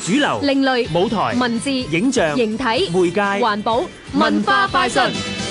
主流、 另類舞台、 文字、 影像、 形體、 媒介、 環保、文化快訊。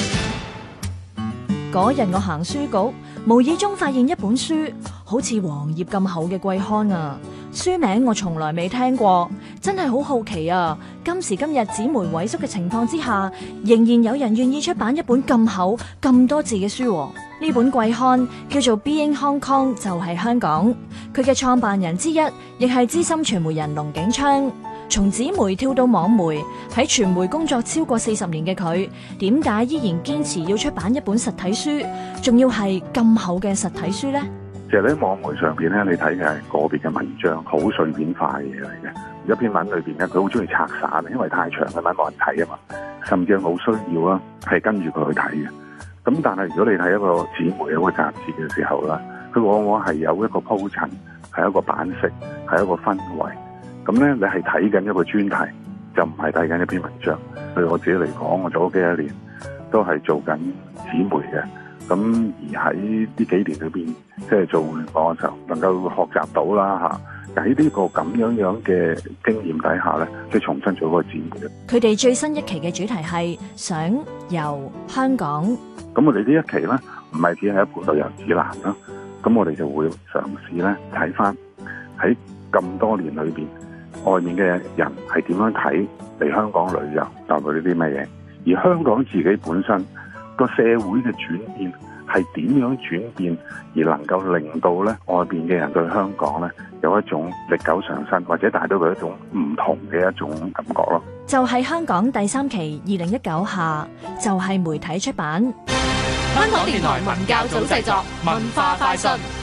嗰日我行書局，無意中發現一本書，好似黃頁咁厚嘅季刊啊！書名我從來未聽過，真係好好奇啊！今時今日紙媒萎縮嘅情況之下，仍然有人願意出版一本咁厚、咁多字嘅書。呢本季刊叫做 Being Hong Kong， 就係香港。佢嘅創辦人之一，亦係資深傳媒人龍景昌。從紙媒跳到網媒，喺傳媒工作超過40年嘅佢，點解依然堅持要出版一本實體書，仲要係咁厚嘅實體書呢？ 其實喺網媒上邊咧，你睇嘅係個別嘅文章，好碎片化嘅嘢嚟嘅。一篇文裏邊咧，佢好中意拆散，因為太長嘅文冇人睇啊嘛。甚至冇需要啦，係跟住佢去睇嘅。咁但係如果你睇一個紙媒一個雜誌嘅時候啦，佢往往係有一個鋪陳，係一個版式，係一個氛圍。咁咧，你係睇緊一個專題，就唔係睇緊一篇文章。對我自己嚟講，我做咗幾多年都係做緊紙媒嘅。咁而喺呢幾年裏邊，即係做互聯網嘅時候，能夠學習到啦嚇。喺呢個咁樣嘅經驗底下咧，即係重新做嗰個紙媒。 佢哋最新一期嘅主題係想遊香港。 咁我哋呢一期咧，唔係只係一本旅遊指南啦。咁我哋就會嘗試咧睇翻喺咁多年裏邊，外面嘅人係點樣睇嚟香港旅遊，帶來呢啲咩嘢？而香港自己本身個社會嘅轉變係點樣轉變，而能夠令到咧外邊嘅人對香港咧有一種歷久常新，或者帶到佢一種唔同嘅一種感覺咯。 就係香港第3期2019夏，就係媒體出版。 香港電台文教組製作，文化快訊。